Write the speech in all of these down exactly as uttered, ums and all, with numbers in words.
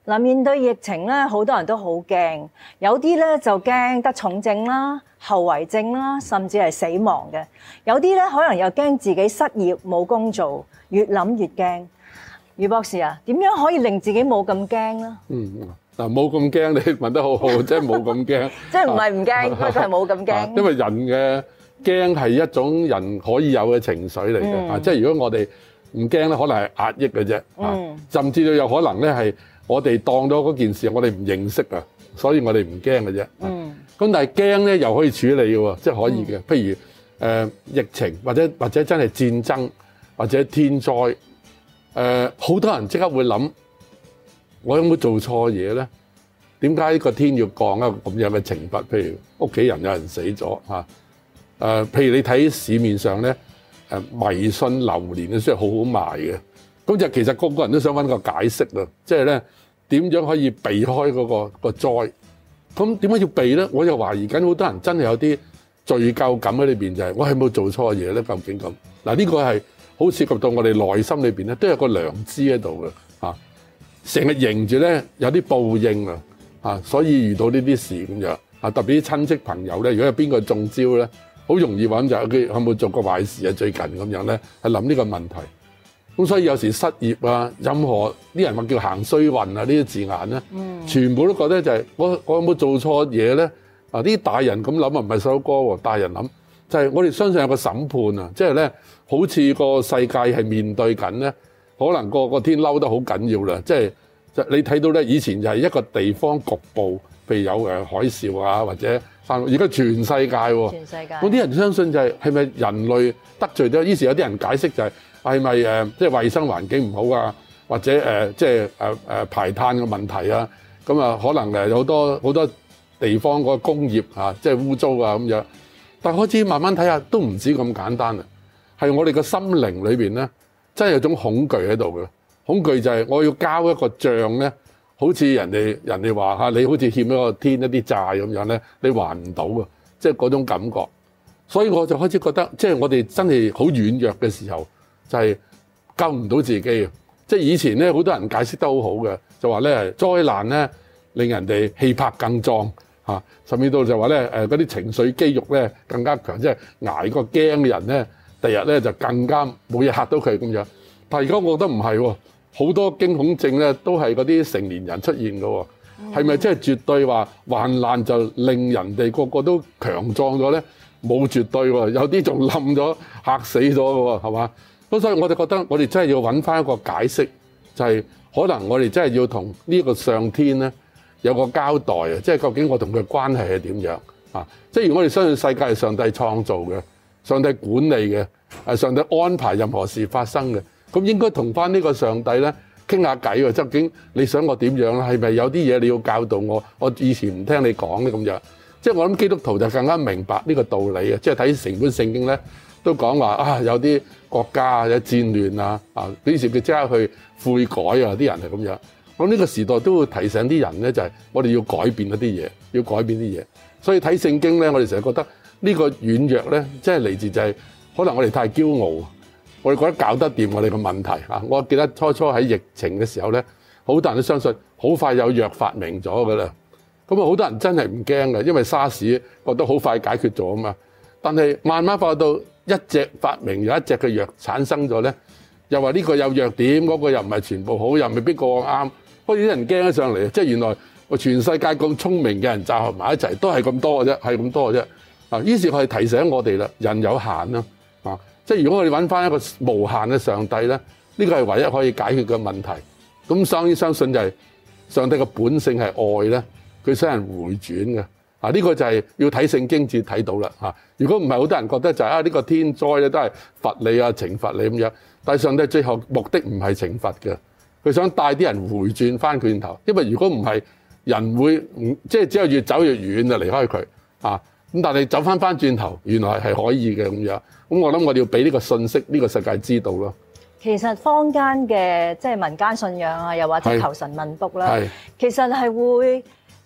嗱，面對疫情咧，好多人都好驚，有啲咧就驚得重症啦、後遺症啦，甚至係死亡嘅；有啲咧可能又驚自己失業冇工做，越諗越驚。余博士啊，點樣可以令自己冇咁驚咧？嗯， 嗱，冇咁驚，你問得好好，即係冇咁驚， 即係唔係唔驚，佢係冇咁驚。 因為人嘅驚係一種人可以有嘅情緒嚟嘅，啊，即係如果我哋唔驚咧，可能係壓抑嘅啫，嗯，甚至到有可能咧係。我哋當咗嗰件事，我哋唔認識啊，所以我哋唔驚嘅啫。嗯。咁但係驚咧，又可以處理嘅喎，即係可以嘅。譬如誒、呃、疫情，或者或者真係戰爭，或者天災，誒、呃、好多人即刻會諗，我有冇做錯嘢咧？點解呢個天要降一個咁樣嘅懲罰？譬如屋企人有人死咗嚇，誒、呃、譬如你睇市面上咧，誒迷信流年嘅書係好好賣嘅，咁就其實個個人都想揾個解釋啊，即係咧。點樣可以避開嗰個個災？咁點解要避咧？我又懷疑緊好多人真係有啲罪疚感喺裏邊，就係我係冇做錯嘢咧？究竟咁嗱？呢個係好涉及到我哋內心裏邊咧，都有個良知喺度嘅嚇。成日迎住咧有啲報應啊嚇，所以遇到呢啲事咁樣啊，特別啲親戚朋友咧，如果有邊個中招咧，好容易揾就佢有冇做過壞事啊？最近咁樣咧，係諗呢個問題。咁所以有時失業啊，任何啲人話叫行衰運啊，呢啲字眼咧，嗯、全部都覺得就係、是、我我有冇做錯嘢咧？啊，啲大人咁諗啊，唔係細佬哥喎，大人諗就係、是、我哋相信有個審判啊，即係咧好似個世界係面對緊咧，可能個個天嬲得好緊要啦，即係就你睇到咧，以前就係一個地方局部，譬如有誒海嘯啊，或者而家全世界喎，全世界嗰啲人相信就係係咪人類得罪咗？於是有啲人解釋就係、是。係咪誒即係衞生環境唔好啊？或者誒即係誒誒排碳嘅問題啊？咁啊可能誒有好多好多地方個工業啊，即係污糟啊咁樣。但係開始慢慢睇下，都唔止咁簡單啊！係我哋個心靈裏邊咧，真係有種恐懼喺度嘅。恐懼就係我要交一個帳咧，好似人哋人哋話嚇你好似欠咗個天一啲債咁樣咧，你還唔到啊！即係嗰種感覺。所以我就開始覺得，即係我哋真係好軟弱嘅時候。就係救唔到自己嘅，即係以前咧好多人解釋得好好嘅，就話咧災難咧令人哋氣魄更壯嚇，甚至到就話咧誒嗰啲情緒肌肉咧更加強，即係捱過驚嘅人咧，第日咧就更加冇嘢嚇到佢咁樣。但係而家我覺得唔係喎，好多驚恐症咧都係嗰啲成年人出現嘅喎，係咪真係絕對話患難就令人哋個個都強壯咗咧？冇絕對喎，有啲仲冧咗嚇死咗嘅喎，係嘛？咁所以我哋覺得我哋真係要揾翻一個解釋，就係可能我哋真係要同呢個上天咧有個交代啊！即係究竟我同佢關係係點樣啊？即係如果我哋相信世界係上帝創造嘅，上帝管理嘅，係上帝安排任何事發生嘅，咁應該同翻呢個上帝咧傾下偈喎。究竟你想我點樣咧？係咪有啲嘢你要教導我？我以前唔聽你講咧咁樣。即係我諗基督徒就更加明白呢個道理啊！即係睇成本聖經咧。都講話啊，有啲國家啊，有戰亂啊，啊，於是佢即刻去悔改啊，啲人係咁樣。咁呢個時代都會提醒啲人咧，就係我哋要改變一啲嘢，要改變啲嘢。所以睇聖經咧，我哋成日覺得呢個軟弱咧，即係嚟自就係可能我哋太驕傲，我哋覺得搞得掂我哋嘅問題啊。我記得初初喺疫情嘅時候咧，好多人都相信好快有藥發明咗㗎啦。咁啊，好多人真係唔驚嘅，因為沙士覺得好快解決咗啊嘛。但係慢慢發到一隻發明有一隻嘅藥產生咗咧，又話呢個有弱點，嗰個又唔係全部好，又未必個個啱，開始啲人驚咗上嚟。即係原來我全世界咁聰明嘅人集合埋一齊，都係咁多嘅啫，係咁多嘅啫。啊，於是佢係提醒我哋啦，人有限啦，啊，即係如果我哋揾翻一個無限嘅上帝咧，呢個係唯一可以解決嘅問題。咁當然相信就係上帝嘅本性係愛咧，佢想人回轉嘅。啊！呢個就係要睇聖經至睇到啦嚇。如果唔係，好多人覺得就係啊呢個天災咧都係罰你啊、懲罰你咁樣。但係上帝最後目的唔係懲罰嘅，佢想帶啲人回轉翻轉頭。因為如果唔係，人會唔即係只有越走越遠就離開佢啊。咁但係走翻翻轉頭，原來係可以嘅咁樣。咁我諗我哋要俾呢個信息，呢個世界知道咯。 其實坊間嘅即係民間信仰啊，又或者求神問卜啦，其實係會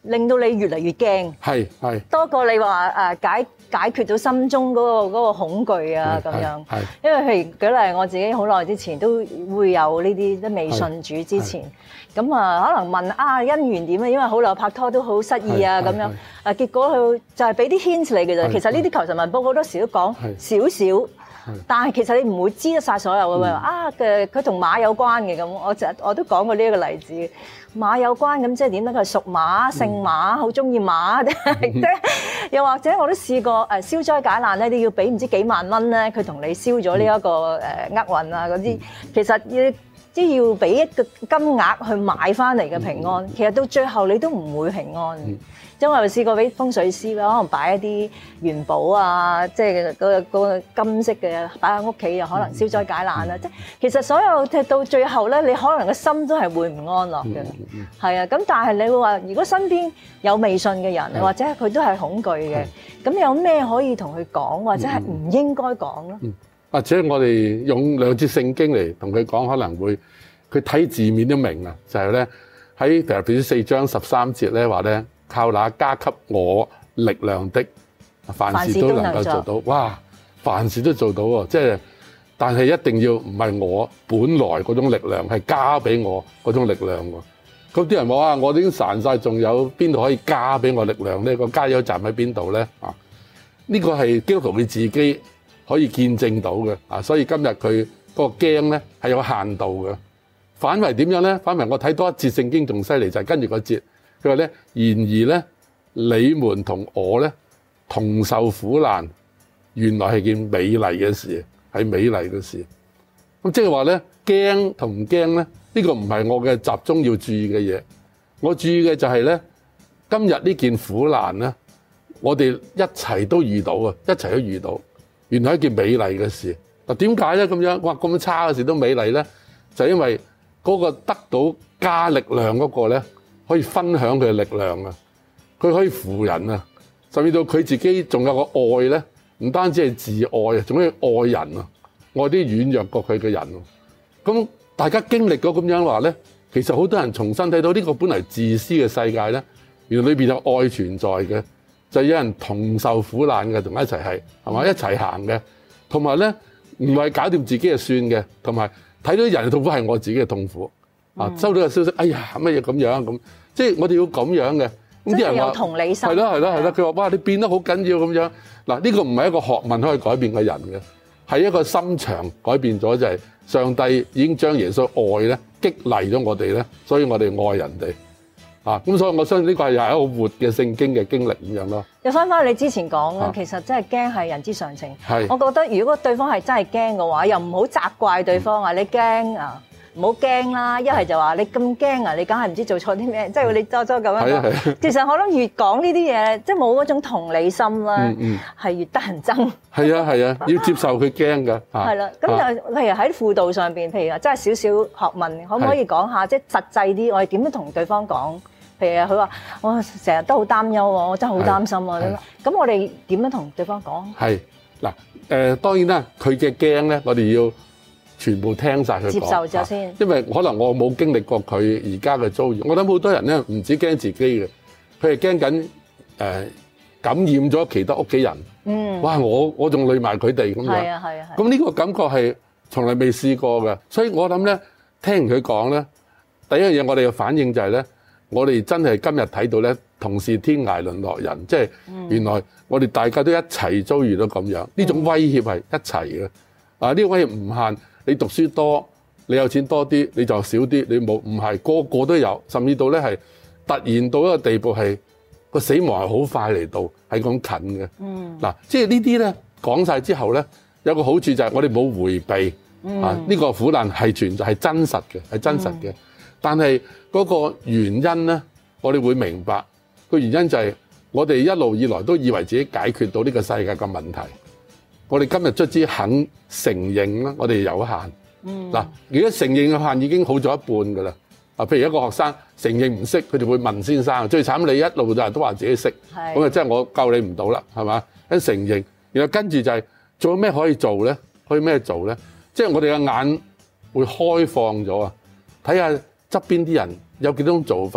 令到你越嚟越驚， 係係多過你話誒解解決到心中嗰個嗰個恐懼啊咁樣。係，因為譬如舉例，我自己好耐之前都會有呢啲都未信主之前，咁啊可能問啊姻緣點啊，因為好耐拍拖都好失意啊咁樣，誒結果佢就係俾啲 hint 你嘅啫。其實呢啲求神問卜好多時都講少少。但係其實你唔會知得晒所有嘅喎，啊嘅佢同馬有關嘅咁，我就我都講過呢一個例子，馬有關咁即係點咧？佢係屬馬、姓馬，好中意馬，即係又或者我都試過誒消災解難咧，你要俾唔知幾萬蚊咧，佢同你消咗呢一個誒厄運啊嗰啲，其實要即係要俾一個金額去買翻嚟嘅平安，其實到最後你都唔會平安。因為我試過俾風水師啦，可能擺一啲元寶啊，即係嗰個嗰個金色嘅擺喺屋企，又可能消災解難啦。即係其實所有即係到最後咧，你可能個心都係會唔安樂嘅。係啊，咁但係你會話，如果身邊有未信嘅人，或者佢都係恐懼嘅，咁有咩可以同佢講，或者係唔應該講咧？ 或者我哋用兩節聖經嚟同佢講，可能會佢睇字面都明啊。就係咧喺腓立比書四章十三節咧話咧。靠那加給我力量的，凡事都能夠做到。哇！凡事都做到喎，即係，但係一定要唔係我本來嗰種力量，係加俾我嗰種力量喎。咁啲人話啊，我已經散晒，仲有邊度可以加俾我力量呢？個加油站喺邊度咧？啊，呢個係基督徒佢自己可以見證到嘅啊。所以今日佢嗰個驚咧係有限度嘅。反為點樣咧？反為我睇多一節聖經仲犀利，就係跟住個節。佢話咧，然而咧，你們同我咧同受苦難，原來係件美麗嘅事，係美麗嘅事。咁即係話咧，驚同唔驚咧，呢個唔係我嘅集中要注意嘅嘢。我注意嘅就係咧，今日呢件苦難咧，我哋一齊都遇到啊，一齊都遇到，原來係一件美麗嘅事。嗱，點解咧咁樣？哇，咁差嘅事都美麗咧，就係因為嗰個得到加力量嗰個咧。可以分享佢嘅力量啊！佢可以扶人啊，甚至到佢自己仲有個愛咧，唔單止係自愛啊，仲可以愛人啊，愛啲軟弱過佢嘅人。咁大家經歷咗咁樣話咧，其實好多人重新睇到呢個本嚟自私嘅世界咧，原來裏邊有愛存在嘅，就係有人同受苦難嘅，同一齊係係嘛一齊行嘅，同埋咧唔係搞掂自己就算嘅，同埋睇到人嘅痛苦係我自己嘅痛苦啊！收到個消息，哎呀乜嘢咁樣咁。即係我哋要咁樣嘅，咁啲人話同理心係咯係咯係咯，佢話哇你變得好緊要咁樣嗱，呢個唔係一個學問可以改變個人嘅，係一個心腸改變咗，就係上帝已經將耶穌愛咧激勵咗我哋咧，所以我哋愛人哋啊，咁所以我相信呢個係又係一個活嘅聖經嘅經歷咁樣咯。又翻返你之前講嘅，其實真係驚係人之常情。係，我覺得如果對方係真係驚嘅話，又唔好責怪對方啊，你驚啊！唔好驚啦，一係就話你咁驚啊！你梗係唔知做錯啲咩，即係你周周咁樣講。其實我諗越講呢啲嘢，即係冇嗰種同理心啦，係、嗯嗯、越得人憎。係啊係啊，要接受佢驚㗎。係啦，咁就譬如喺輔導上邊，譬如話真係少少學問，可唔可以講下即係實際啲？我哋點樣同對方講？譬如佢話我成日都好擔憂喎，我真係好擔心啊！咁我哋點樣同對方講？係嗱誒，當然啦，佢嘅驚咧，我哋要全部聽晒佢講，接受咗先。因為可能我冇經歷過佢而家嘅遭遇，我諗好多人咧唔止驚自己嘅，佢係驚緊誒感染咗其他屋企人。嗯，哇！我我仲累埋佢哋咁樣。係啊係啊係。咁呢個感覺係從來未試過嘅，所以我諗咧，聽完佢講咧，第一樣嘢我哋嘅反應就係咧，我哋真係今日睇到咧，同是天涯淪落人，即係原來我哋大家都一齊遭遇到咁樣，呢種威脅係一齊嘅。啊，呢個威脅唔限。你讀書多，你有錢多啲，你就少啲。你冇唔係個個都有，甚至到咧係突然到一個地步係個死亡係好快嚟到，係咁近嘅。嗯，嗱，即係呢啲咧講晒之後咧，有個好處就係我哋冇迴避、嗯、啊。呢、呢個苦難係存在，係真實嘅，係真實嘅、嗯。但係嗰個原因咧，我哋會明白個原因就係我哋一路以來都以為自己解決到呢個世界嘅問題。我哋今日卒之肯承認啦，我哋有限。嗯。嗱，如果承認嘅限已經好咗一半㗎啦。啊，譬如一個學生承認唔識，佢哋會問先生。最慘你一路就係都話自己識，咁啊，即係我救你唔到啦，係嘛？一承認，然後跟住就係做咩可以做咧？可以咩做咧？即係我哋嘅眼會開放咗啊！睇下側邊啲人有幾種做法，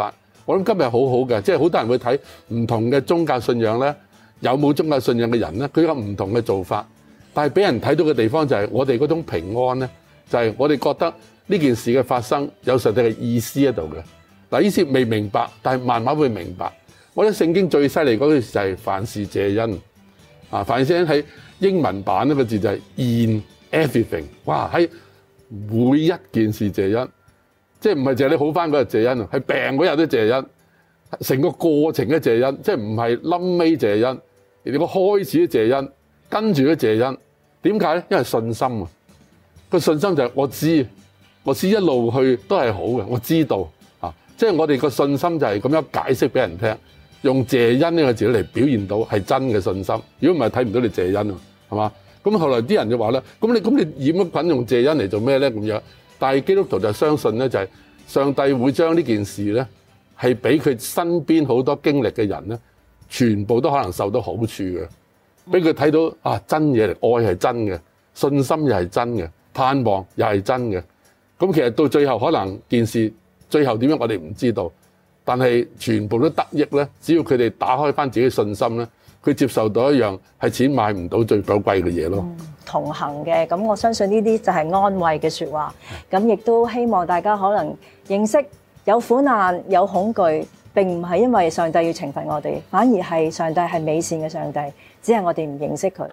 我諗今日好好嘅，即係好多人會睇唔同嘅宗教信仰咧，有冇宗教信仰嘅人咧，佢有唔同嘅做法。但係俾人睇到嘅地方就係我哋嗰種平安咧，就係我哋覺得呢件事嘅發生有上帝嘅意思喺度嘅。嗱，意思未明白，但係慢慢會明白。我覺得聖經最犀利嗰句就係凡事謝恩啊！凡事謝恩喺英文版呢個字就係 in everything。哇！喺每一件事謝恩，即係唔係淨係你好翻嗰日謝恩啊？係病嗰日都謝恩，成個過程都謝恩，即係唔係臨尾謝恩，連個開始都謝恩，跟住都謝恩。點解咧？因為信心啊！個信心就係我知，我知一路去都係好嘅，我知道啊！即係我哋個信心就係咁樣解釋俾人聽，用謝恩呢個字嚟表現到係真嘅信心。如果唔係睇唔到你謝恩啊，係嘛？咁後來啲人就話咧，咁你咁你染咗菌用謝恩嚟做咩咧？咁樣，但係基督徒就相信咧，就係上帝會將呢件事咧係俾佢身邊好多經歷嘅人咧，全部都可能受到好處嘅。俾佢睇到啊，真嘢嚟，愛係真嘅，信心又係真嘅，盼望又係真嘅。咁其實到最後可能件事最後點樣我哋唔知道，但係全部都得益咧。只要佢哋打開翻自己嘅信心咧，佢接受到一樣係錢買唔到最寶貴嘅嘢咯。 嗯，同行嘅，咁我相信呢啲就係安慰嘅説話。咁亦都希望大家可能認識有苦難有恐懼，並唔係因為上帝要懲罰我哋，反而係上帝係美善嘅上帝，只係我哋唔認識佢。